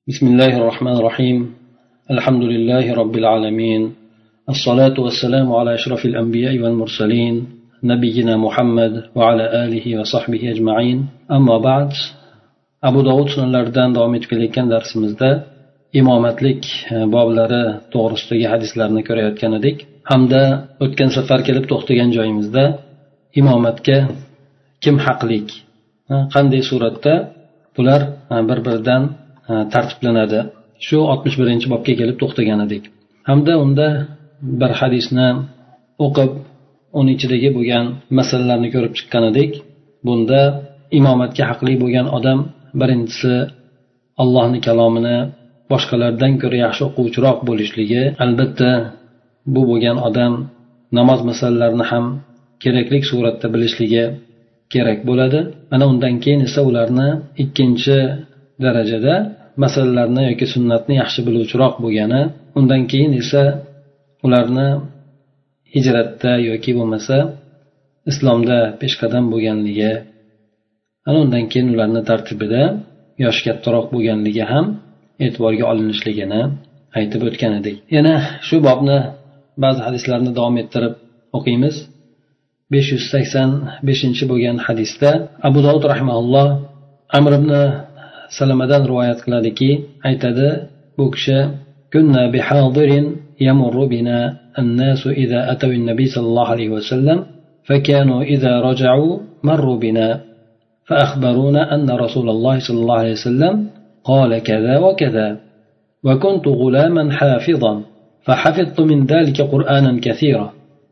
بسم الله الرحمن الرحيم الحمد لله رب العالمين الصلاة والسلام على أشرف الأنبياء والمرسلين نبينا محمد وعلى آله وصحبه أجمعين أما بعد أبو داود sunanlaridan davom etib kelayotgan darsimizda imomatlik boblari to'g'risidagi hadislarni ko'rayotgan edik hamda o'tgan safar kelib to'xtagan joyimizda imomatga kim haqlik, qanday suratda bular bir biridan tartiblanadi, shu 61 bobga kelib to'xtagan edik hamda unda bir hadisni o'qib uni ichidagi bo'lgan masalalarni ko'rib chiqqan edik. Bunda imomatga haqli bo'lgan odam birinchisi Allohning kalomini boshqalardan ko'ra yaxshi o'quvchiroq bo'lishligi, albatta bu bo'lgan odam namoz masalalarini ham kerakli suratda bilishligi kerak bo'ladi. Mana undan keyin esa ularni ikkinchi darajada masalalarni yoki sunnatni yaxshi biluvchiroq bo'lgani, undan keyin esa ularni hijratda yoki bo'lmasa islomda peshqadam bo'lganligi, ana undan keyin ularni tartibida yoshi kattaroq bo'lganligi ham e'tiborga olinishligini aytib o'tgan edik. Yana shu bobni ba'zi hadislarni davom ettirib o'qiymiz. 585 bo'lgan hadisda Abu Dovud rahimahulloh Amr ibn Salamadan rivoyat qiladiki, aytadi, bu kishi kunna bihadirin yamurru bina an-nasu idza ataw an-nabiy sallallohu alayhi va sallam fakanu idza raja'u marru bina فأخبرونا أن رسول الله صلى الله عليه وسلم قال كذا وكذا وكنت غلاما حافظا فحفظت من ذلك قرآنا كثيرا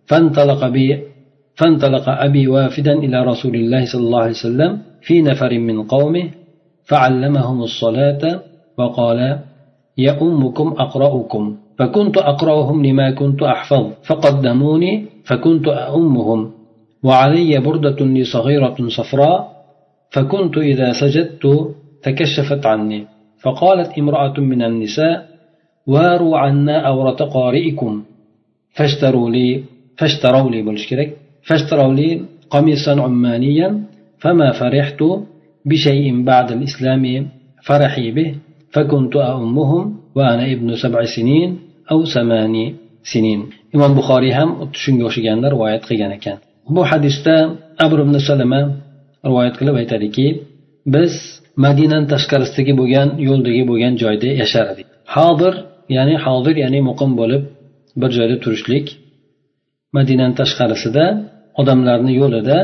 فانطلق أبي وافدا إلى رسول الله صلى الله عليه وسلم في نفر من قومه فعلمهم الصلاة وقال يؤمكم أقرأكم فكنت أقرأهم لما كنت أحفظ فقدموني فكنت أؤمهم وعلي بردة لي صغيرة صفراء فكنت إذا سجدت تكشفت عني فقالت امرأة من النساء واروا عنا أورة قارئكم فاشتروا لي قميصا عمانيا فما فرحت بشيء بعد الإسلام فرحي به فكنت أؤمهم وأنا ابن 7 سنين أو 8 سنين. إمام بخاري هم shunga o'xshaganlar rivoyat qilgan ekan. Bu hadisda Amr ibn Salama rivoyat qilib aytadiki, biz Madinaning tashqarisidagi bo'lgan yo'ldagi bo'lgan joyda yashar edik. Hodir ya'ni muqim bo'lib bir joyda turishlik. Madinaning tashqarisida odamlarning yo'lida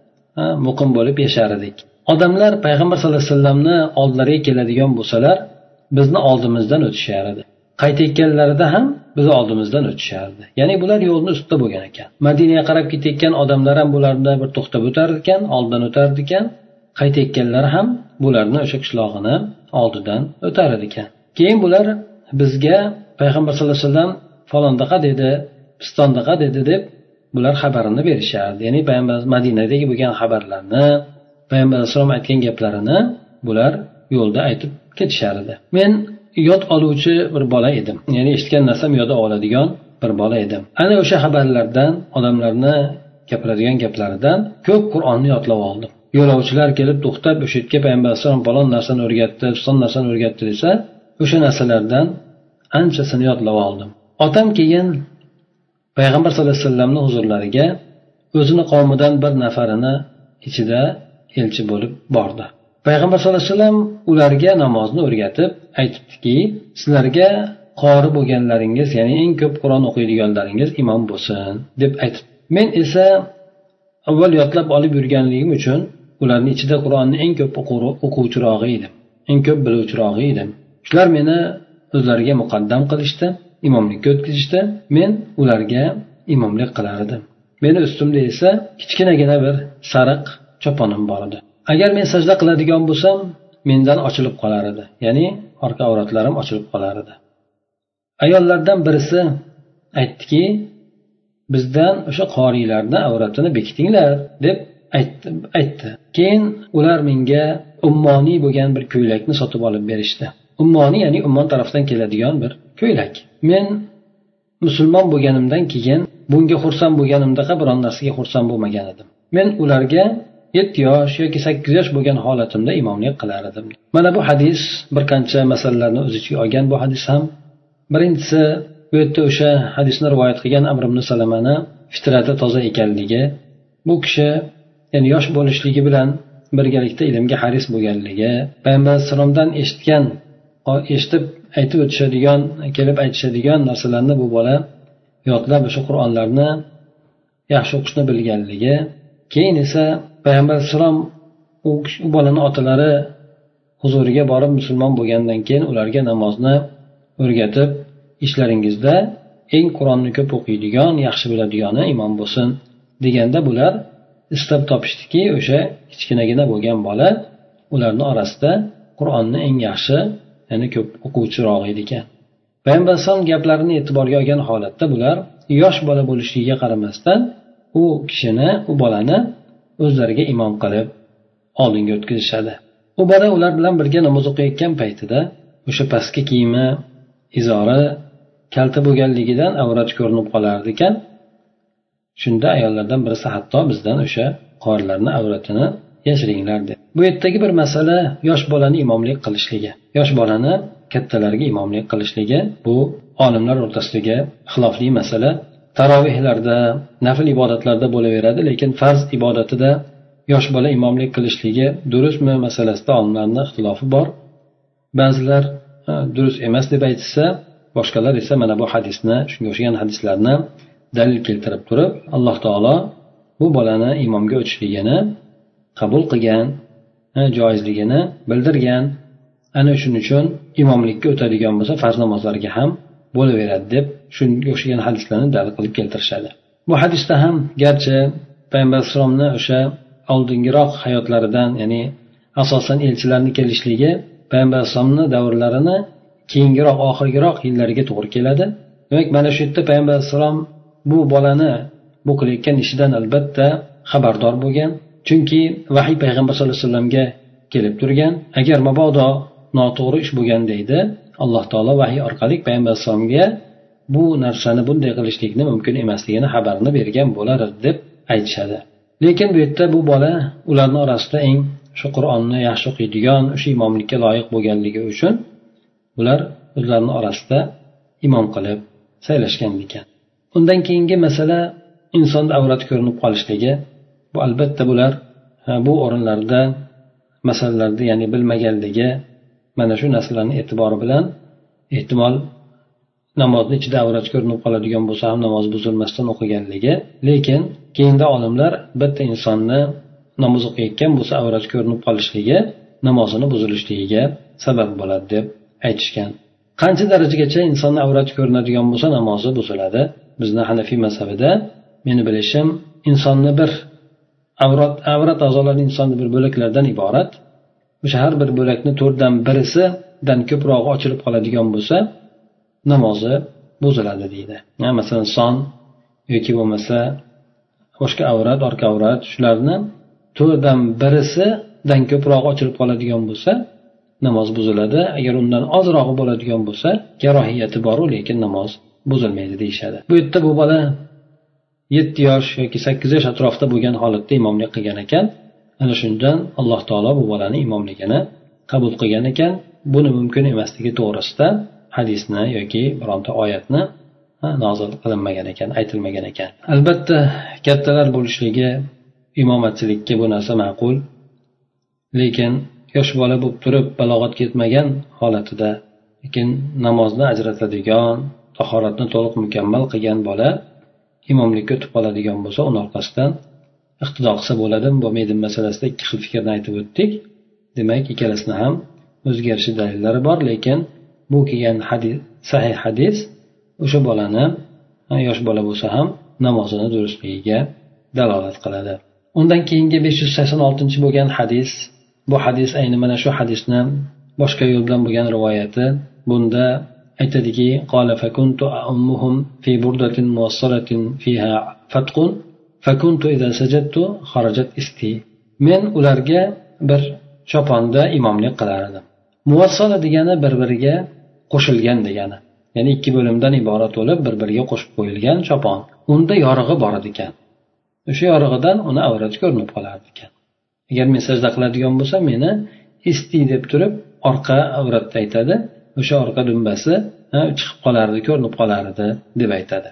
muqim bo'lib yashar edik. Odamlar payg'ambar sallallohu alayhi vasallamni oldilariga keladigan bo'lsalar, bizni oldimizdan o'tishardi. Qaytayotganlarida ham bizni oldimizdan o'tishardi. Ya'ni bular yo'lning ustida bo'lgan ekan. Madinaga qarab ketayotgan odamlar ham bularni bir to'xtab o'tar ekan, oldidan o'tar ekan. Qaytayotganlar ham bularni o'sha qishlog'ini oldidan o'tar ekan. Keyin bular bizga payg'ambar sallallohu alayhi vasallam falondaqa dedi, pistondaqa dedi deb bular xabarini berishardi. Ya'ni payg'ambar Madinadagi bo'lgan xabarlarni, payg'ambar alayhisalom aytgan gaplarini bular yo'lda aytib ketishardi. Men yod oluvchi bir bola edim. Ya'ni eshitgan narsam yodga oladigan bir bola edim. Ana o'sha xabarlardan, odamlarni gapiradigan gaplaridan ko'p Qur'onni yodlab oldim. Yo'lovchilar kelib to'xtab, o'sha yerga payg'ambar alayhisalom falon narsani o'rgatdi, son narsani o'rgatdi desa, o'sha narsalardan anchasini yodlab oldim. Otam keyin payg'ambar sallallohu alayhi vasallamning huzurlariga o'zini qavmidan bir nafarini ichida elchi bo'lib bordi. Payg'ambar sallallohu alayhi vasallam ularga namozni o'rgatib aytibdiki, sizlarga qori bo'lganlaringiz, ya'ni eng ko'p Qur'on o'qiydiganlaringiz imom bo'lsin deb aytib. Men esa avval yodlab olib yurganligim uchun ularning ichida Qur'onni eng ko'p o'quvchirog'i edim, eng ko'p biluvchirog'i edim. Shular meni o'zlariga muqaddam qilishdi, imomlikka o'tkazishdi. Men ularga imomlik qilar edim. Meni ustimda esa kichkinagina bir sariq choponim bor edi. Agar men sajda qiladigan bo'lsam, mendan ochilib qolar edi. Ya'ni orqa avratlarim ochilib qolar edi. Ayollardan birisi aytdiki, bizdan o'sha qorilarning avratini bekitinglar deb aytdi. Keyin ular menga ummoniy bo'lgan bir ko'ylakni sotib olib berishdi. Ummoniy ya'ni Ummon tarafdan keladigan bir ko'ylak. Men musulmon bo'lganimdan keyin bunga xursand bo'lganimdaqa biron narsaga xursand bo'lmagan edim. Men ularga 7 yosh yoki 8 yosh bo'lgan holatimda imomlik qilar edim. Mana bu hadis bir qancha masalalarni o'z ichiga olgan. Bu hadis ham birinchisi, bu yerda o'sha hadisni rivoyat qilgan Amr ibn Salamani fitrati toza ekanligi, bu kishi ya'ni yosh bo'lishligi bilan birgalikda ilmga haris bo'lganligi, payg'ambar alayhisalomdan eshitib aytib o'tishadigan, kelib aytishadigan narsalarni bu bola yodlab o'sha Qur'onlarni yaxshi o'qishni bilganligi, keyin esa payg'ambar alayhisalom u bolani otalari huzuriga borib musulmon bo'lgandan keyin ularga namozni o'rgatib, ishlaringizda eng Qur'onni ko'p o'qiydigan, yaxshi biladigani imom bo'lsin deganda bular istab topishdiki, o'sha kichkinagina bo'lgan bola ularning orasida Qur'onni eng yaxshi, ya'ni ko'p o'quvchiroq edi ekan. Payg'ambar alayhisalom gaplarini e'tiborga olgan holatda bular yosh bola bo'lishligiga qaramasdan u kishini, u bolani o'zlariga imom qilib oldinga o'tkazishadi. U bola ular bilan birga namoz o'qiyotgan paytida o'sha pastki kiyimi, izori kalta bo'lganligidan avrat ko'rinib qolardi ekan. Shunda ayollardan birisi hatto bizdan o'sha qorilarni avratini yashiringlar dedi. Bu yerdagi bir masala yosh bolani imomlik qilishligi. Yosh bolani kattalarga imomlik qilishligi bu olimlar o'rtasidagi xilofli masala. Tarovihlarda, nafl ibodatlarda bo'laveradi, lekin farz ibodatida yosh bola imomlik qilishligi durustmi masalasida olimlarning ixtilofi bor. Ba'zilar durust emas deb aytsa, boshqalar esa mana bu hadisni, shunga o'xshagan hadislarni dalil keltirib turib, Alloh taolo bu bolani imomga o'tishligini qabul qilgan, joizligini bildirgan. Ana shuning uchun imomlikka o'tadigan bo'lsa farz namozlarga ham bo'laveradi deb shunga o'xshagan hadislarni dalil qilib keltirishadi. Bu hadisda ham garchi payg'ambar alayhisolamni o'sha oldingiroq hayotlaridan, ya'ni asosan elchilarning kelishligi payg'ambar alayhisolamning davrlarini keyingiroq, oxirgiroq yillariga to'g'ri keladi. Demak, mana shu yerda payg'ambar alayhisolam bu bolani bu qilayotgan ishidan albatta xabardor bo'lgan. Chunki vahiy payg'ambar sollallohu alayhi vasallamga kelib turgan. Agar mabodo noto'g'ri ish bo'lganda edi, Alloh taolo vahiy orqali payg'ambar alayhisolamga bu narsani bunday qilishlikni mumkin emasligini xabarini bergan bo'lar deb aytishadi. Lekin bu yerda bu bola ularning orasida eng shu Qur'onni yaxshi o'qiydigan, o'sha imomlikka loyiq bo'lganligi uchun ular o'zlarining orasida imom qilib saylashgan ekan. Undan keyingi masala insonda avrat ko'rinib qolishligi. Bu albatta bular bu o'rinlarda masalalarni, ya'ni bilmaganligi, mana shu narsalarning e'tibori bilan ehtimol namozni ichida avrat ko'rinib qoladigan bo'lsa ham namoz buzilmasdan o'qiganligi, lekin keyinda olimlar bitta insonni namoz o'qiyotgan bo'lsa avrat ko'rinib qolishligi namozini buzilishligiga sabab bo'ladi deb aytishgan. Qancha darajagacha insonni avrat ko'rinadigan bo'lsa namozi buziladi? Bizni Hanafiy mazhabida meni bilishim insonni bir avrat a'zolari insonni bir bo'laklardan iborat. O'sha har bir bo'lakni 4dan birisidan ko'proq ochilib qoladigan bo'lsa namozi buziladi deydi. Masalan, son yoki bo'lmasa boshqa avrat, orqa avrat, shularni 4dan birisidan ko'proq ochilib qoladigan bo'lsa namoz buziladi. Agar undan ozrog'i bo'ladigan bo'lsa karohiyati bor, lekin namoz buzilmaydi deyishadi. Bu yerda bu bola 7 yosh yoki 8 yosh atrofida bo'lgan holatda imomlik qilgan ekan. Ana shundan Alloh taolo bu bolani imomligini qabul qilgan ekan. Buni mumkin emasligi to'g'risida hadisni yoki bironta oyatni nozil qilinmagan ekan, aytilmagan ekan. Albatta kattalar bo'lishligi imomatchilikka bu narsa ma'qul. Lekin yosh bola bo'lib turib balog'at ketmagan holatida, lekin namozni ajratadigan, tahoratni to'liq mukammal qilgan bola imomlikka o'tib qoladigan bo'lsa, uning orqasidan iqtido qilsa bo'ladimi, bo'lmaydimi masalasida ikki xil fikrni aytib o'tdik. Demak, ikkalasini ham o'zgarishi dalillari bor, lekin bu kelgan hadis, sahih hadis o'sha bolani yosh bola bo'lsa ham namozini durustligiga dalolat qiladi. Undan keyingi 586 bo'lgan hadis, bu hadis ayni mana shu hadisni boshqa yo'l bilan bo'lgan rivoyati. Bunda aytadiki, qala fakuntu ummuhum fi burdatin muwassalatin fiha fatqun fakuntu idza sajadtu kharajat isti. Men ularga bir choponda imomlik qilar edim. Muvassala degani bir-biriga qo'shilgan degani. Ya'ni ikki bo'limdan iborat bo'lib bir-biriga qo'shib qo'yilgan chopon. Unda yorig'i bor ekan. O'sha yorig'idan uni avrat ko'rinib qolardi ekan. agar men sajda qiladigan bo'lsam meni isti deb turib orqa avratda aytadi, o'sha orqa dumbasi chiqib qolardi, ko'rinib qolardi deb aytadi.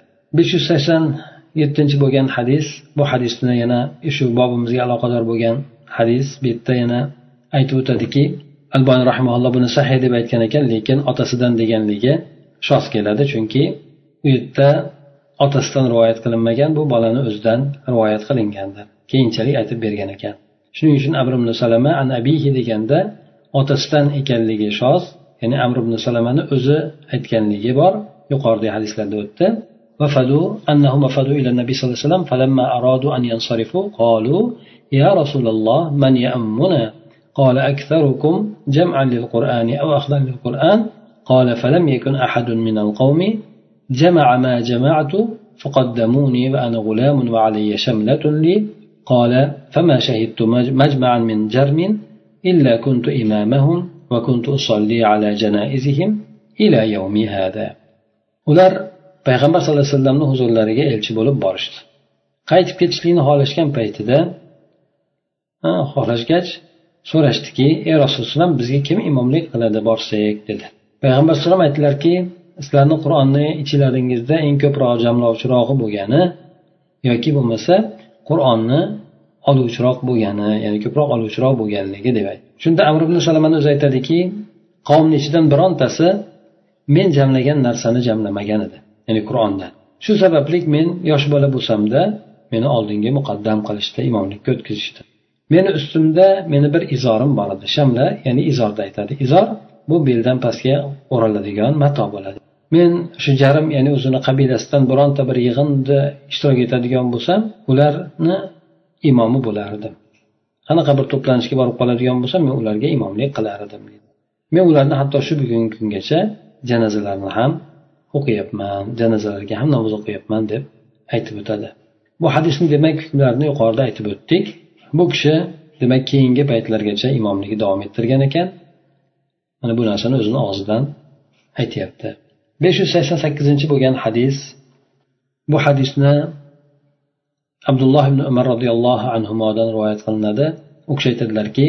587 bo'lgan hadis, bu hadisni yana shu bobimizga aloqador bo'lgan hadis. Bu yerda yana aytib o'tadiki, Albani rahimahulloh buni sahih deb aytgan ekan, lekin otasidan deganligi shoz keladi, chunki u yerda otasidan rivoyat qilinmagan, bu bolani o'zidan rivoyat qilingandir. Keyinchalik aytib bergan ekan. Shuning uchun Amr ibn Salama an abihi deganda otasidan ekanligi shoz, ya'ni Amr ibn Salamani o'zi aytganligi bor. Yuqoridagi hadislarda o'tdi. وفدوا أنهم وفدوا إلى النبي صلى الله عليه وسلم فلما أرادوا أن ينصرفوا قالوا يا رسول الله من يأمنا قال أكثركم جمعا للقرآن أو أخذا للقرآن قال فلم يكن أحد من القوم جمع ما جمعت فقدموني وأنا غلام وعلي شملة لي قال فما شهدت مجمعا من جرم إلا كنت إمامهم وكنت أصلي على جنائزهم إلى يوم هذا. ular payg'ambar sallallohu alayhi vasallamning huzurlariga elchi bo'lib borishdi. Qaytib ketishlikni xohlashgan paytida xohlashgach so'rashdiki, ey Rasululloh, bizga kim imomlik qiladi borsak dedi. Payg'ambar sallallohu alayhi vasallam aytdilarki, sizlarning Qur'onni ichilaringizda eng ko'proq jamlovchirog'i bo'lgani yoki bo'lmasa Qur'onni oluvchiroq bo'lgani, ya'ni ko'proq oluvchiroq bo'lganligi deb aytdi. Shunda Amr ibn Salamani o'zi aytadiki, qavmning ichidan birontasi men jamlagan narsani jamlamagan edi, ya'ni Qur'ondan. Shu sababli men yosh bola bo'lsam-da, meni oldinga muqaddam qilishdi, imomlikka o'tkazishdi. Meni ustimda meni bir izorim bor edi. Shamla, ya'ni izorda aytadi. Izor bu beldan pastga o'raladigan mato bo'ladi. Men shu jarim, ya'ni o'zini qabilasidan bironta bir yig'inda ishtirok etadigan bo'lsam, ularni imomi bo'lardim. Qanaqa bir to'planishga borib qoladigan bo'lsam, men ularga imomlik qilardim dedi. Men ularni hatto shu bugungi kungacha janozalarni ham o'qiyapman, janozalarga ham namoz o'qiyapman deb aytib o'tadi. Bu hadisning demak hukmlarini yuqorida aytib o'tdik. Bu kishi demak keyingi paytlargacha imomligi davom ettirgan ekan. Mana bu narsani o'zini og'zidan aytayapti. 588 bo'lgan hadis. Bu hadisni Abdulloh ibn Umar radhiyallohu anhudan rivoyat qilinadi. U kishi aytadilarki,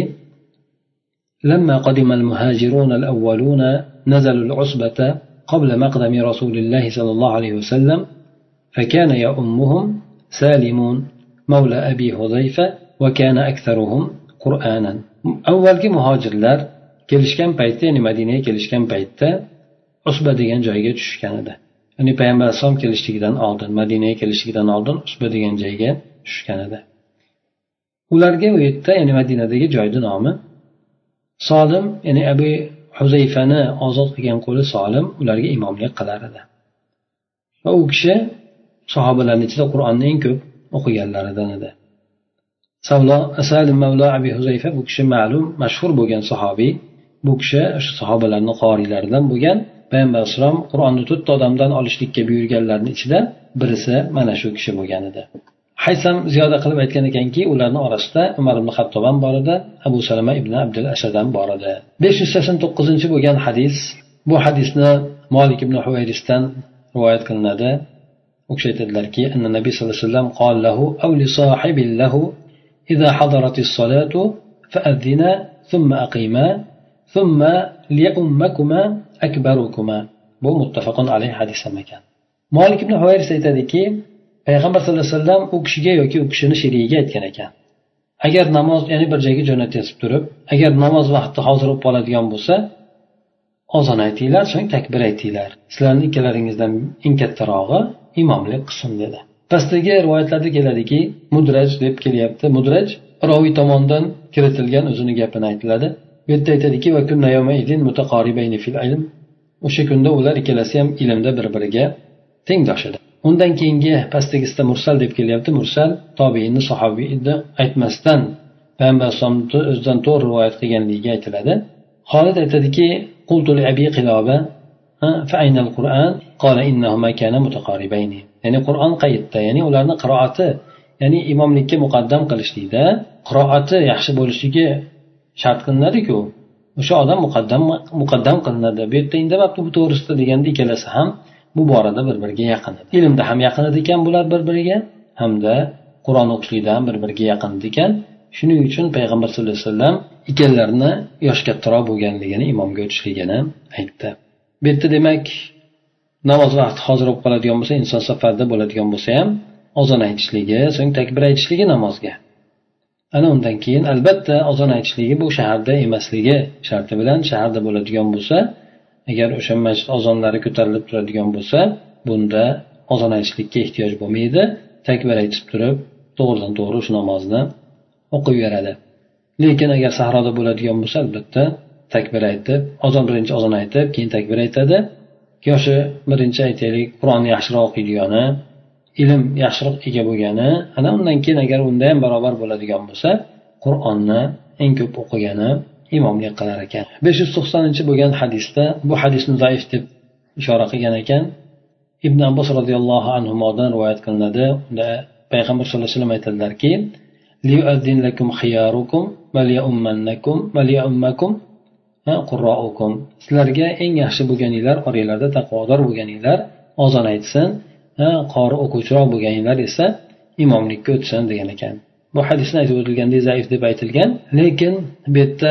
لما قدم المهاجرون الأولون نزلوا العصبة قبل مقدم رسول الله صلى الله عليه وسلم فكان يؤمهم سالم مولى أبي حذيفة وكان أكثرهم قرآنا. أول muhojirlar kelishgan paytda, ya'ni Madinaga kelishgan paytda Usba degan joyga tushgan edi. Ya'ni payg'ambar sollallohu kelishligidan oldin, Madinaga kelishligidan oldin Usba degan joyga tushgan edi. Ularga u yerda, ya'ni Madinadagi joyning nomi Solim, ya'ni Abu Huzayfani ozod qilgan qo'li Solim ularga imomlik qilar edi. Va u kishi sahobalarning ichida Qur'onni eng ko'p o'qiganlaridan edi. Salim Mavla Abi Huzayfa bu kishi ma'lum, mashhur bo'lgan sahobiy. Bu kishi o'sha sahobalarning qorilaridan bo'lgan. Payg'ambar sollallohu alayhi vasallam Qur'onni 4 odamdan olishlikka buyurganlarning ichida birisi mana shu kishi bo'lgan edi. Haysam ziyoda qilib aytgan ekanki, ularning orasida Umar ibn Xattob ham bor edi, Abu Salama ibn Abdul Ashad ham bor edi. 589 bo'lgan hadis. Bu hadisni Malik ibn Huwayrisdan rivoyat qilinadi. U kishi aytadilarki, anna Nabiy sollallohu alayhi vasallam qol lahu aw li sahibil lahu idha hadaratis salatu fa'adhina thumma aqima thumma liyummakuma akbarukuma. Bu muttafaqun alayhi hadis ekan. Malik ibn Huwayris aytadiki, payg'ambar sallallohu alayhi vasallam u kishiga yoki u kishining sherigiga aytgan ekan, agar namoz, ya'ni bir joyga jo'natib turib, agar namoz vaqti hozir bo'lib qoladigan bo'lsa, ozon aytinglar, so'ng takbir aytinglar. Sizlarning ikkalaringizdan eng kattarog'i imomlik qilsin dedi. Pastdagi rivoyatlarda keladiki, mudraj deb kelyapti. Mudraj roviy tomonidan kiritilgan o'zining gapini aytiladi. Bu yerda aytadiki, va kunna yawma idin mutaqoribayni fil ilm. O'sha kunda ular ikkalasi ham ilmda bir-biriga tengdosh edi. Undan keyingi pastdagisida mursal deb kelyapti. Mursal tobiinni, sahobiyni aytmasdan payg'ambar sollallohu o'zidan to'g'ri rivoyat qilganligi aytiladi. Xolid aytadiki, qultu li abi qiloba fa ayna al-Qur'an qala innahuma kana mutaqaribayni. Ya'ni Qur'on qayerda? Ya'ni ularning qiroati, ya'ni imomlikka muqaddam qilishlikda qiroati yaxshi bo'lishligi shart qilinadi-ku. O'sha odam muqaddam qilinadi. Bu yerda indamabdi bu to'g'risida deganda ikkalasi ham bu borada bir-biriga yaqin edi. Ilmda ham yaqin edi ekan bular bir-biriga, hamda Qur'on o'qishlikda ham bir-biriga yaqin edi ekan. Shuning uchun payg'ambar sallallohu alayhi vasallam ikkalalarini yosh kattaroq bo'lganligini imomga o'tishligini aytdi. Bu yerda demak namoz vaqti hozir bo'lib qoladigan bo'lsa, inson safarda bo'ladigan bo'lsa ham azon aytishligi, so'ng takbir aytishligi namozga. Ana undan keyin albatta azon aytishligi bu shaharda emasligi sharti bilan shaharda bo'ladigan bo'lsa, agar o'sha masjid azonlari ko'tarilib turadigan bo'lsa, bunda azon aytishlikka ehtiyoj bo'lmaydi. Takbir aytib turib, to'g'ridan to'g'ri shu namozni o'qiyveradi. Lekin agar sahroda bo'ladigan bo'lsa, albatta takbir aytib, birinchi azon aytib, keyin takbir aytadi. Yoshi birinchi aytaylik, Qur'onni yaxshiroq o'qiydigani, ilm yaxshiroq ega bo'lgani, ana undan keyin agar unda ham barobar bo'ladigan bo'lsa, Qur'onni eng ko'p o'qigani imomlik qilar ekan. 590 bo'lgan hadisda bu hadisni zaif deb ishora qilgan ekan. Ibn Abbos radhiyallohu anhudan rivoyat qilinadi. Unda payg'ambar sollallohu alayhi vasallam aytadilarki: "Liyu'addin lakum khiyarukum va liyummannakum va liyummakum qurra'ukum." Sizlarga eng yaxshi bo'lganinglar, oranglarda taqvodor bo'lganinglar azon aytsin, qori o'quvchiroq bo'lganinglar esa imomlikka o'tsin degan ekan. Bu hadisni aytib o'tilgandek zaif deb aytilgan, lekin bu yerda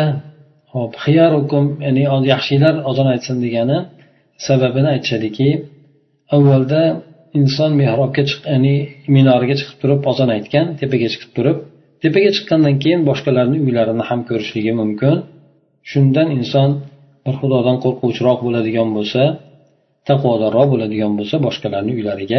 khiyarukum, ya'ni yaxshilar azon aytsin degani sababini aytishadiki, avvalda inson mehrobga ya'ni minoriga chiqib turib azon aytgan, tepaga chiqib turib, tepaga chiqqandan keyin boshqalarning uylarini ham ko'rishligi mumkin. Shundan inson bir Xudodan qo'rquvchiroq bo'ladigan bo'lsa, taqvodorroq bo'ladigan bo'lsa, boshqalarning uylariga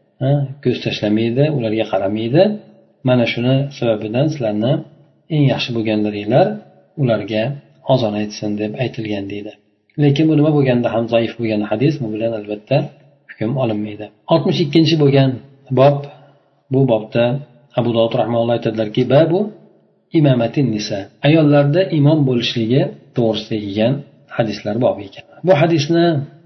ko'z tashlamaydi, ularga qaramaydi. Mana shuni sababidan sizlarni eng yaxshi bo'lganlaringlar ularga azon aytsin deb aytilgan deydi. Lekin bu nima bo'lganda ham zaif bo'lgan hadis, bu bilan albatta hukm olinmaydi. 62 bo'lgan bob, bu bobda Abu Dovud rahimahulloh aytadilarki, babu imamatin nisa, ayollarda imom bo'lishligi to'g'risida kelgan hadislar bobi ekan. Bu hadisni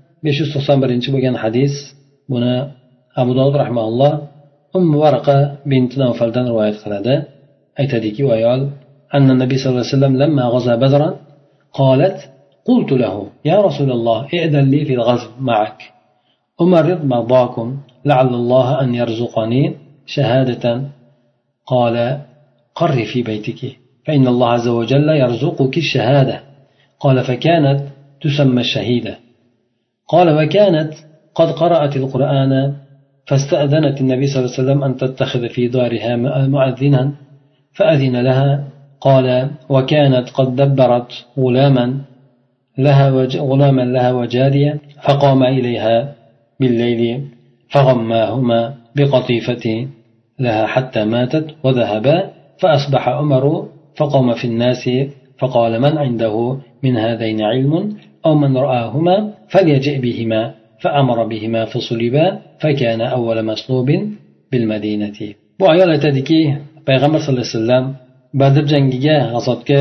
591 bo'lgan hadis, buni Abu Dovud rahimahulloh Varqa bint Nawfaldan rivoyat qiladi. Aytadiki, ayol anna nabiy sallallohu alayhi vasallam lamma ghaza badran qalat qultu lahu ya rasululloh i'dan li fi al-ghazw ma'ak umarid madakum la'alla Allah an yarzuqani shahadatan qala qarri fi baytiki fa inna Allah azza wa jalla yarzuquki ash-shahada qala fa kanat tusamma ash-shahida qala wa kanat qad qara'at al-Qur'ana فاستأذنت النبي صلى الله عليه وسلم أن تتخذ في دارها مؤذنا فأذن لها قال وكانت قد دبرت غلاما لها وجارية فقام إليها بالليل فغماهما بقطيفة لها حتى ماتت وذهبا فأصبح عمر فقام في الناس فقال من عنده من هذين علم أو من رآهما فليجئ بهما فأمر بهما فصلبا فكان أول مصلوب بالمدينة. Bu ayol aytadiki, payg'ambar sollallohu alayhi vasallam Badr jangiga, g'azotga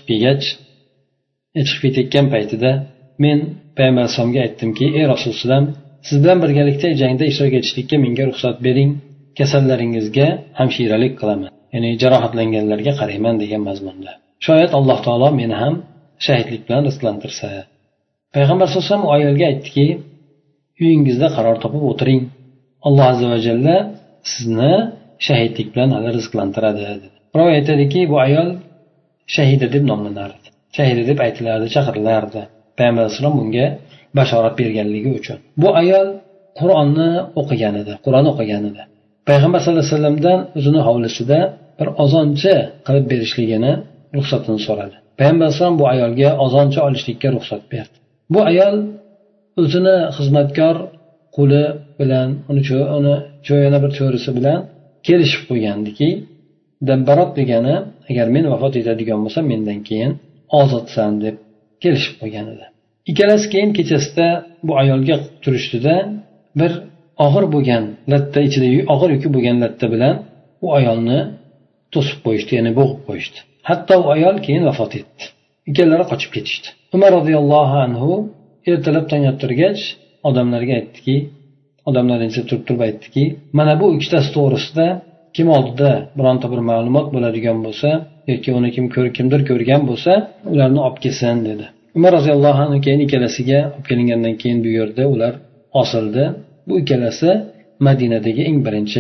chiqib ketgan paytida men payg'ambar sollallohu aytdimki, ey Rasululloh, siz bilan birgalikda jangda ishtirok etishlikka menga ruxsat bering, kasallaringizga hamshiralik qilaman, ya'ni jarohatlanganlarga qarayman degan mazmunda. Shoyat Alloh taolo meni ham shahidlik bilan rizqlantirsa. Payg'ambar sollallohu alayhi vasallam u ayolga aytdiki, uyingizda qaror topib o'tiring. Alloh azza va jalla sizni shahidlik bilan hali rizqlantiradi dedi. Ravi aytadiki, bu ayol shahida deb nomlanardi. Shahida deb aytilardi, chaqirilardi. Payg'ambar sollallohu alayhi vasallam bunga bashorat berganligi uchun. Bu ayol Qur'onni o'qigan edi, Payg'ambar sollallohu alayhi vasallamdan o'zini hovlisida bir ozoncha qilib berishligini ruxsatini so'radi. Payg'ambar sollallohu alayhi vasallam bu ayolga ozoncha olishlikka ruxsat berdi. Bu ayol o'zini xizmatkor quli bilan, uni yana bir cho'risi bilan kelishib qo'ygandiki, dabbarot degani, agar men vafot etadigan bo'lsam, mendan keyin ozodsan deb kelishib qo'ygan edi. Ikkalasi keyin kechasida bu ayolga turishdida bir og'ir bo'lgan latta, ichida og'ir yuki bo'lgan latta bilan u ayolni to'sib qo'yishdi, ya'ni bo'g'ib qo'yishdi. Hatto u ayol keyin vafot etdi. Ikkalari qochib ketishdi. Umar roziyallohu anhu ertalab tong ottirgach odamlarga aytdiki, odamlarning ichida turib aytdiki, mana bu ikkitasi to'g'risida kim oldida bironta bir ma'lumot bo'ladigan bo'lsa yoki uni kimdir ko'rgan bo'lsa, ularni olib kelsin dedi. Umar roziyallohu anhu keyin ikkalasiga olib kelingandan keyin bu yerda ular osildi. Bu ikkalasi Madinadagi eng birinchi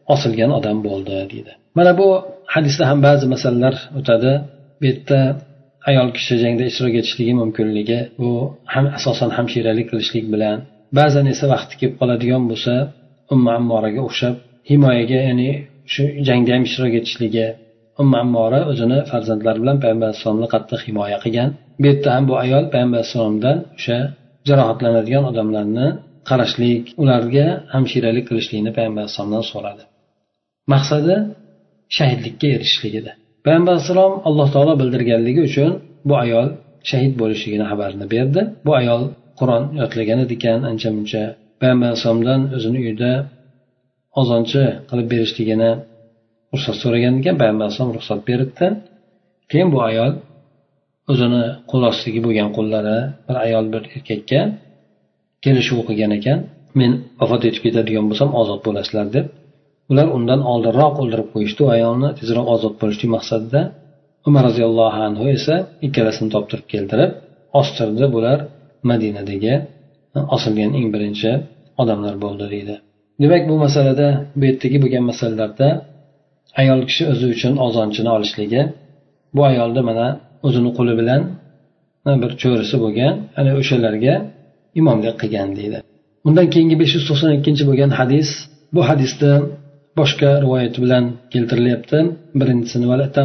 osilgan odam bo'ldi deydi. Mana bu hadisda ham ba'zi masalalar o'tadi. Bu yerda ayol kishi jangda ishtirok etishligi mumkinligi, bu ham asosan hamshiralik qilishlik bilan, ba'zan esa vaqti kelib qoladigan bo'lsa Ummu Ammoraga o'xshab himoyaga, ya'ni shu jangda ham ishtirok etishligi. Ummu Ammora o'zini farzandlari bilan payg'ambar alayhisolamni qattiq himoya qilgan. Bu yerda ham bu ayol payg'ambar alayhisolamdan o'sha jarohatlanadigan odamlarni qarashlik, ularga hamshiralik qilishlikni payg'ambar alayhisolamdan so'radi. Maqsadi shahidlikka erishishlik edi. Payg'ambar alayhisalom Alloh taolo bildirganligi uchun bu ayol shahid bo'lishligini xabarini berdi. Bu ayol Qur'on yodlagan ekan, ancha muncha. Payg'ambar alayhisalomdan o'zini uyida ozonchi qilib berishligini ruxsat so'ragan ekan. Payg'ambar alayhisalom ruxsat berdi. Keyin bu ayol o'zini qo'l ostidagi bo'lgan qullari bir ayol bir erkakka kelishuv qilgan ekan. Men vafot etib ketadigan bo'lsam ozod bo'lasizlar deb. Ular undan oldinroq o'ldirib qo'yishdi. Ayolni tezroq ozod bo'lishlik maqsadida. Umar roziyallohu anhu esa ikkalasini toptirib keltirib ostirdi. Bular Madinadagi osilgan eng birinchi odamlar bo'ldi deydi. Demak, bu masalada, bu yerdagi bo'lgan masalalarda ayol kishi o'zi uchun ozonchini olishligi, bu ayolda mana o'zini qo'li bilan bir cho'risi bo'lgan, ana o'shalarga imomlik qilgan deydi. Undan keyingi 592 bo'lgan hadis, bu hadisda boshqa rivoyat bilan keltirilyapti. Birinchisini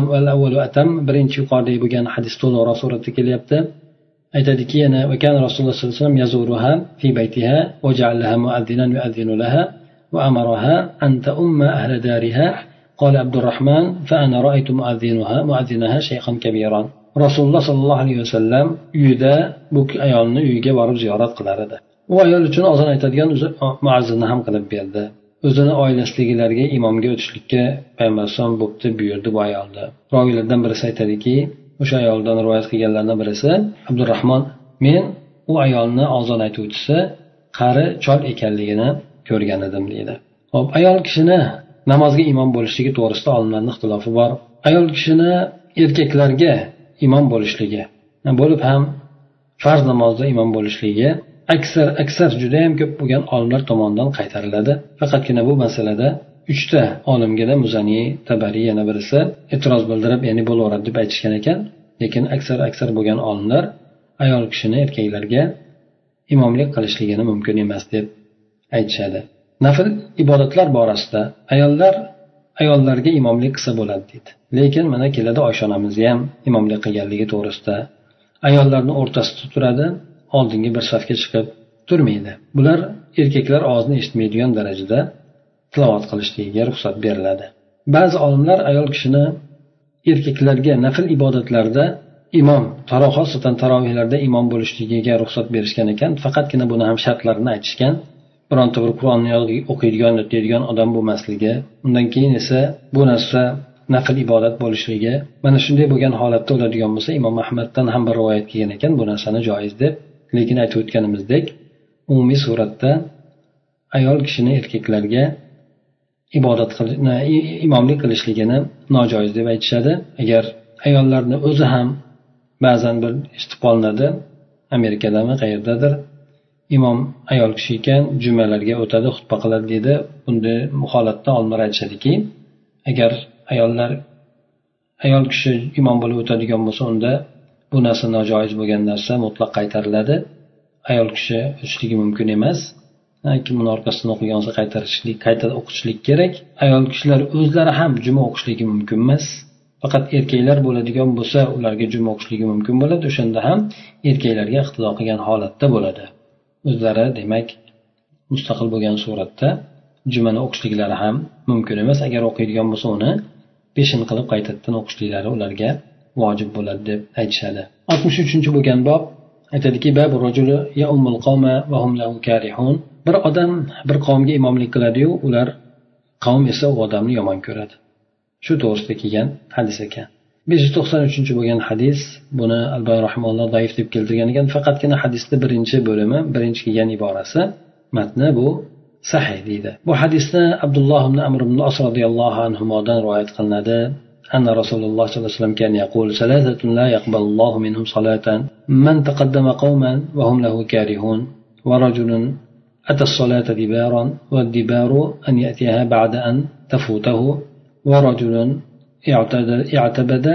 birinchi yuqoridagi bo'lgan hadis to'liqroq suratda kelyapti. Aytadiki, yana va kan Rasululloh sollallohu alayhi vasallam yazuruha fi baytiha va ja'alaha mu'addinan yu'adhdinu laha va amaraha an ta'umma ahla dariha. Qala Abdurrahman fa ana ra'aytu mu'adhdinaha shaykhan kabiran. Rasululloh sollallohu alayhi vasallam uyida bu ayolni uyiga borib ziyorat qilar edi. U ayol uchun ozon aytadigan muazzinni ham qilib berdi. O'zini oilasidagilarga imomga o'tishlikka payg'ambar alayhisalom bo'pti buyurdi bu ayolni. Roviylardan birisi aytadiki, o'sha ayoldan rivoyat qilganlardan birisi Abdurrahmon, men u ayolni ozon aytuvchisi qari chol ekanligini ko'rgan edim deydi. Xo'p, ayol kishini namozga imom bo'lishligi to'g'risida olimlarning ixtilofi bor. Ayol kishini erkaklarga imom bo'lishligi, bo'lib ham farz namozda imom bo'lishligi aksar juda ham ko'p bo'lgan olimlar tomonidan qaytariladi. Faqatgina bu masalada 3 ta olimga, Muzani, Tabari yana birisi e'tiroz bildirib, ya'ni bo'laveradi deb aytishgan ekan. Lekin aksar bo'lgan olimlar ayol kishini erkaklarga imomlik qilishligini mumkin emas deb aytishadi. Nafl ibodatlar borasida ayollarga imomlik qilsa bo'ladi deydi. Lekin mana keladi Oysha onamiz ham imomlik qilganligi to'g'risida. Ayollarni o'rtasida turadi, oldingi bir safga chiqib turmaydi. Bular erkaklar ovozini eshitmaydigan darajada tilovat qilishligiga ruxsat beriladi. Ba'zi olimlar ayol kishini erkaklarga nafl ibodatlarda imom, xosatan tarovihlarda imom bo'lishligiga ruxsat berishgan ekan. Faqatgina buni ham shartlarini aytishgan. Bironta bir Qur'onni o'qiydigan, o'qiydigan odam bo'lmasligi, undan keyin esa bu narsa nafl ibodat bo'lishligi. Mana shunday bo'lgan holatda bo'ladigan bo'lsa, Imom Ahmaddan ham bir rivoyat kelgan ekan bu narsani joiz deb. Lekin aytib o'tganimizdek, umumiy suratda ayol kishini erkaklarga imomlik qilishligini nojoiz deb aytishadi. Agar ayollarni o'zi ham ba'zan bir eshitib qolinadi, Amerikadami qayerdadir, imom ayol kishi ekan, jumalarga o'tadi, xutba qiladi deydi. Bunday holatda olimlar aytishadiki, agar ayol kishi imom bo'lib o'tadigan bo'lsa, unda bu narsa nojoiz bo'lgan narsa mutlaq qaytariladi. Ayol kishi o'tishligi mumkin emas. Kim uni orqasidan o'qigan bo'lsa qayta o'qishlik kerak. Ayol kishilar o'zlari ham juma o'qishligi mumkin emas. Faqat erkaklar bo'ladigan bo'lsa, ularga juma o'qishligi mumkin bo'ladi. O'shanda ham erkaklarga iqtido qilgan holatda bo'ladi. O'zlari demak mustaqil bo'lgan suratda jumani o'qishliklari ham mumkin emas. Agar o'qiydigan bo'lsa, uni peshin qilib qaytadan o'qishliklari ularga vojib bo'ladi deb aytishadi. 63 bo'lgan bob aytadiki, babu rajuli ya'ummul qawma va hum lahu karihun. Bir odam bir qavmga imomlik qiladi-yu, ular qavm esa u odamni yomon ko'radi. Shu to'g'risida kelgan hadis ekan. 593 bo'lgan hadis, buni Albani rahimahulloh zaif deb keltirgan ekan. Faqatgina hadisning birinchi bo'limi, birinchi kelgan iborasi, matni bu sahih deydi. Bu hadisni Abdulloh ibn Amr ibn As radhiyallohu anhudan rivoyat qilinadi. أن رسول الله صلى الله عليه وسلم كان يقول ثلاثة لا يقبل الله منهم صلاة من تقدم قوما وهم له كارهون ورجل أتى الصلاة دبارا والدبار أن يأتيها بعد أن تفوته ورجل اعتبد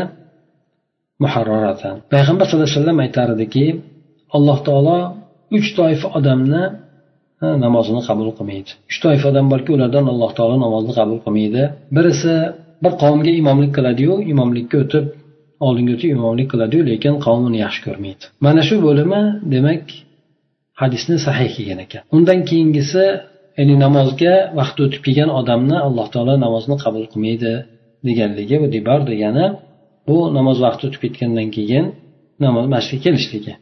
محررة. payg'ambar sallallohu alayhi vasallam aytardiki, alloh taolo 3 toifa odamni namozini qabul qilmaydi. 3 toifa odam borki, ulardan alloh taolo namozni qabul qilmaydi. Birisi bir qavmga imomlik qiladi-yu, imomlikka o'tib oldinga o'tib imomlik qiladi-yu, lekin qavmini yaxshi ko'rmaydi. Mana shu bo'limi demak hadisni sahih kelgan ekan. Undan keyingisi, ya'ni namozga vaqt o'tib kelgan odamni alloh taolo namozni qabul qilmaydi deganligi, bu dibar degani bu namoz vaqti o'tib ketgandan keyin namoz masjidga kelishligi.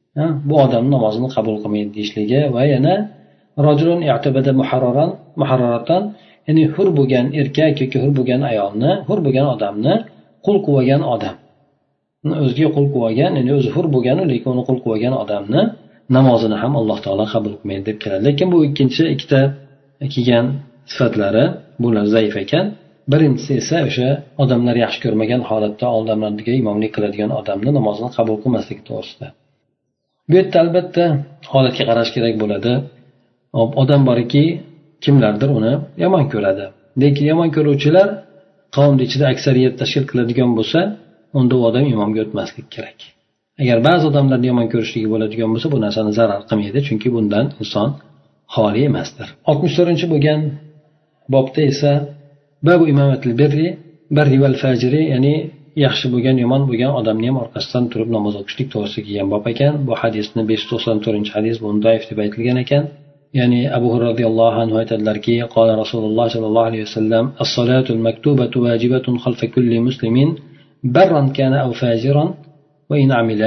Bu odamning namozini qabul qilmaydi deyishligi va yana rajulun i'tabada muharraratan, ya'ni hur bo'lgan erkak yoki hur bo'lgan ayolni, hur bo'lgan odamni qul qilgan odam. O'ziga qul qilgan, ya'ni o'zi hur bo'lgan, lekin uni qul qilgan odamni namozini ham alloh taolo qabul qilmaydi deb keladi. Lekin bu ikkita kelgan sifatlari bular zaif ekan. Birinchisi esa o'sha odamlar yaxshi ko'rmagan holatda oldinlarga imomlik qiladigan odamni namozini qabul qilmaslik to'g'risida. Bu yerda albatta holatga qarash kerak bo'ladi. Odam borki, kimlardir uni yomon ko'radi. Lekin yomon ko'ruvchilar qavm ichida aksariyat tashkil qiladigan bo'lsa, unda u odam imomga o'tmaslik kerak. Agar ba'zi odamlarni yomon ko'rishligi bo'ladigan bo'lsa, bu narsani zarar qilmaydi, chunki bundan inson xoli emasdir. 64 bo'lgan bobda esa babu imomatil barri val fajiri, ya'ni yaxshi bo'lgan, yomon bo'lgan odamni ham orqasidan turib namoz o'qishlik to'g'risida kelgan bob ekan. Bu hadisni 594-hadis, bu doif deb aytilgan ekan. Ya'ni Abu Hurayra radhiyallohu anhu aytadilarki, qala Rasululloh sallallohu alayhi vasallam, as-salatul maktubatu wajibatun khalfa kulli muslimin barran kana aw fajiran va in amila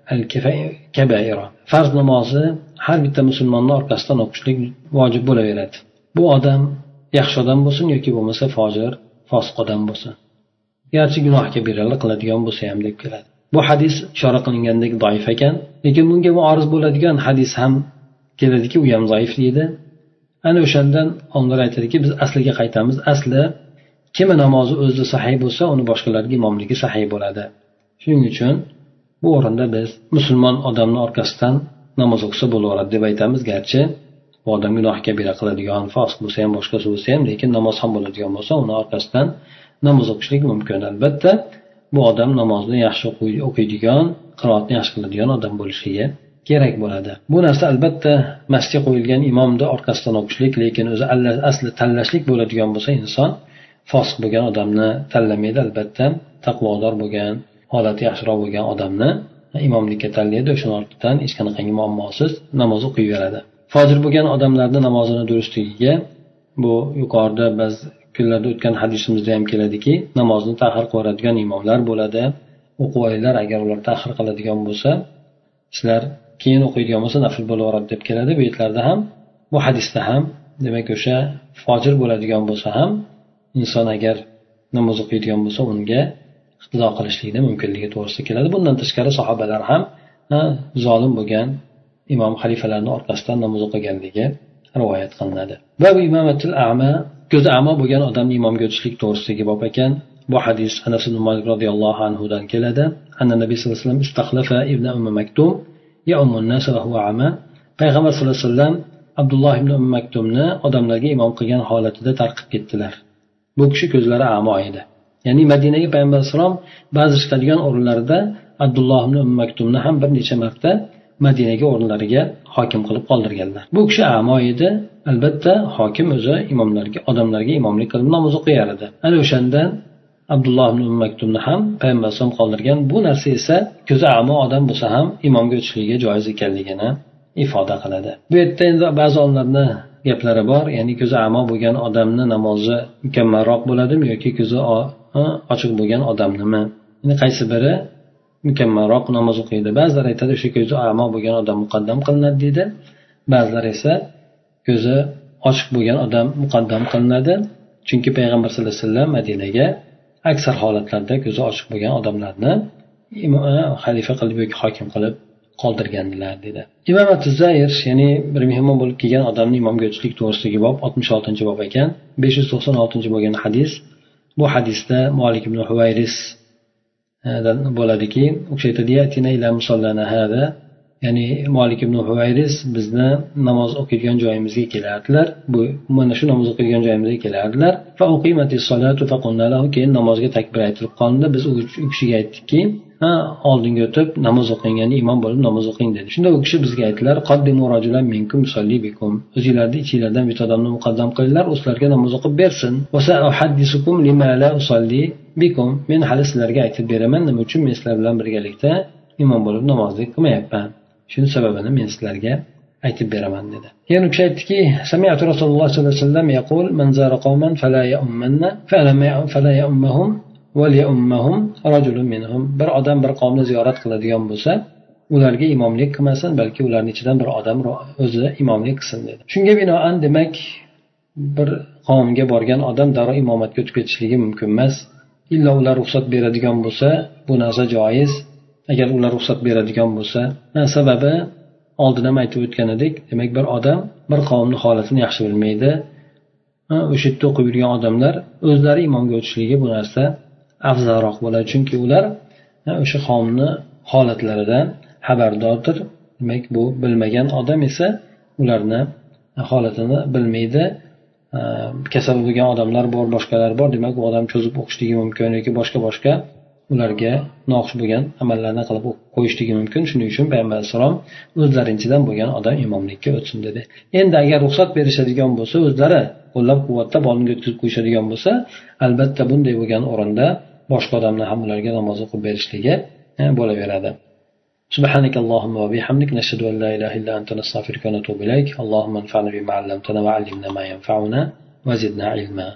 al-kaba'ira. Farz namozi har bitta musulmonning orqasidan o'qishlik vojib bo'laveradi. Bu odam yaxshi odam bo'lsin yoki bo'lmasa fojir, fosiq odam bo'lsin. Garchi gunoh kabiralar qiladigan bo'lsa ham deb keladi. Bu hadis ishora qilingandek doif ekan, lekin bunga muoriz bo'ladigan hadis ham keladiki, u ham zaif deydi. Ana o'shandan onlar aytadiki, biz asliga qaytamiz. Asli kimi namozi o'zida sahih bo'lsa, uni boshqalarga imomligi sahih bo'ladi. Shuning uchun bu o'rinda biz musulmon odamning orqasidan namoz o'qisa bo'laveradi deb aytamiz. Garchi bu odam gunoh kabira qiladigan, fosiq bo'lsa ham, boshqasi bo'lsa ham, lekin namoz ham bo'ladigan bo'lsa, uni orqasidan namoz o'qishlik mumkin. Albatta bu odam namozni yaxshi o'qiydigan, qiroatni yaxshi qiladigan odam bo'lishligi kerak bo'ladi. Bu narsa albatta masjidga qo'yilgan imomni orqasidan o'qishlik, lekin o'zi asli tanlashlik bo'ladigan bo'lsa, inson fosiq bo'lgan odamni tanlamaydi. Albatta taqvodor bo'lgan, holati yaxshiroq bo'lgan odamni imomlikka tanlaydi. O'shaning ortidan hech qanaqangi muammosiz namoz o'qiyveradi. Fojir bo'lgan odamlarning namozini durustligiga bu yuqorida biz kunlarda o'tgan hadisimizda ham keladiki, namozni ta'xir qiladigan imomlar bo'ladi. O'qib olinglar, agar ular ta'xir qiladigan bo'lsa, sizlar keyin o'qiydigan bo'lsa nafl bo'laveradi deb keladi. Bu yerlarda ham, bu hadisda ham, demak o'sha fojir bo'ladigan bo'lsa ham inson agar namoz o'qiydigan bo'lsa, unga iqtido qilishlikni mumkinligi to'g'risida keladi. Bundan tashqari sahobalar ham zolim bo'lgan imom xalifalarning orqasidan namoz o'qiganligi rivoyat qilinadi. Babu imomatil a'ma, ko'zi a'mo bo'lgan odamni imomga o'tishlik to'g'risidagi bob ekan. Bu hadis Anas ibn Malik radhiyallohu anhu dan keladi. Anna Nabiy sallallohu alayhi vasallam istakhlafa ibn Maktum ya'ummun nas wa huwa a'ma. Payg'ambar sallallohu alayhi vasallam Abdulloh ibn Maktumni odamlarga imom qilgan holatida tarqib ketdilar. Bu kishi ko'zlari a'mo edi. Ya'ni Madinaga payg'ambar solom ba'zi chiqadigan o'rinlarda Abdulloh ibn Maktumni ham bir necha marta Madinaga o'rinlariga hokim qilib qoldirganlar. Bu kishi a'mo edi. Albatta hokim o'zi imomlarga, odamlarga imomlik qilib namoz o'qiyar edi. Ana o'shandan Abdulloh ibn Maktumni ham payg'ambar solom qoldirgan. Bu narsa esa ko'zi a'mo odam bo'lsa ham imomga o'tishligiga joiz ekanligini ifoda qiladi. Bu yerda endi ba'zi olimlarning gaplari bor, ya'ni ko'zi a'mo bo'lgan odamni namozi mukammalroq bo'ladimi yoki ko'zi ochiq bo'lgan odamnimi? Ya'ni qaysi biri mukammalroq namoz o'qiydi? Ba'zilar aytadi, o'sha ko'zi a'mo bo'lgan odam muqaddam qilinadi deydi. Ba'zilar esa ko'zi ochiq bo'lgan odam muqaddam qilinadi. Chunki payg'ambar sollallohu alayhi vasallam Madinaga aksar holatlarda ko'zi ochiq bo'lgan odamlarni xalifa qilib yoki hokim qilib qoldirgandilar dedi. Imom at-Tuzayr, ya'ni bir mehmon bo'lib kelgan odamni imomga o'tishlik to'g'risidagi bob 66-bob ekan. 596 bo'lgan hadis. Bu hadisda Malik ibn Huwayris bo'ladiki, u kishi aytadi: "Atina ila musallana hada", ya'ni Malik ibn Huvayris bizni namoz o'qiydigan joyimizga kelardilar. Bu mana shu namoz o'qiydigan joyimizga kelardilar. Fa uqimatis solatu fa qulna lahu, keyin namozga takbir aytilib qoldi. Biz u kishiga aytdikki, oldinga o'tib namoz o'qing, ya'ni imom bo'lib namoz o'qing dedi. Shunda u kishi bizga aytdilar, qaddimu rajulan minkum yusalli bikum, o'zingizlarning ichingizlardan bitta odamni muqaddam qilinglar, o'slarga namoz o'qib bersin. Va sa'uhaddisukum lima la usalli bikum, men hali sizlarga aytib beraman nima uchun men sizlar bilan birgalikda imom bo'lib namozlik qilmayapman. Shuni sababini men sizlarga aytib beraman dedi. Yana u kishi aytdiki, sami'tu Rasululloh sollallohu alayhi vasallam yaqul man zara qawman fala ya'ummanna fala ya'ummahum va liya'ummahum rajulun minhum. Bir odam bir qavmni ziyorat qiladigan bo'lsa, ularga imomlik qilmasin, balki ularning ichidan bir odam o'zi imomlik qilsin dedi. Shunga binoan demak, bir qavmga borgan odam darrov imomatga o'tib ketishligi mumkin emas. Illa ular ruxsat beradigan bo'lsa, bu narsa joiz. Agar ular ruxsat beradigan bo'lsa, sababi oldin ham aytib o'tgan edik, demak bir odam bir qavmning holatini yaxshi bilmaydi. O'sha yerda o'qib yurgan odamlar o'zlari imomga o'tishligi bu narsa afzalroq bo'ladi, chunki ular o'sha qavmning holatlaridan xabardordir. Demak bu bilmagan odam esa ularni holatini bilmaydi. Kasal bo'lgan odamlar bor, boshqalar bor, demak u odam cho'zib o'qishligi mumkin yoki boshqa ularga noxush bo'lgan amallarni qilib qo'yishligi mumkin. Shuning uchun payg'ambar alayhisalom o'zlarinchidan bo'lgan odam imomlikka o'tsin dedi. Endi agar ruxsat berishadigan bo'lsa, o'zlari qo'llab-quvvatlab oldinga o'tkazib qo'yishadigan bo'lsa, albatta bunday bo'lgan o'rinda boshqa odamlar ham ularga namoz o'qib berishligi bo'laveradi. سبحانك اللهم وبحمدك نشهد أن لا إله إلا أنت نستغفرك ونتوب إليك اللهم انفعنا بما علمتنا وعلمنا ما ينفعنا وزدنا علما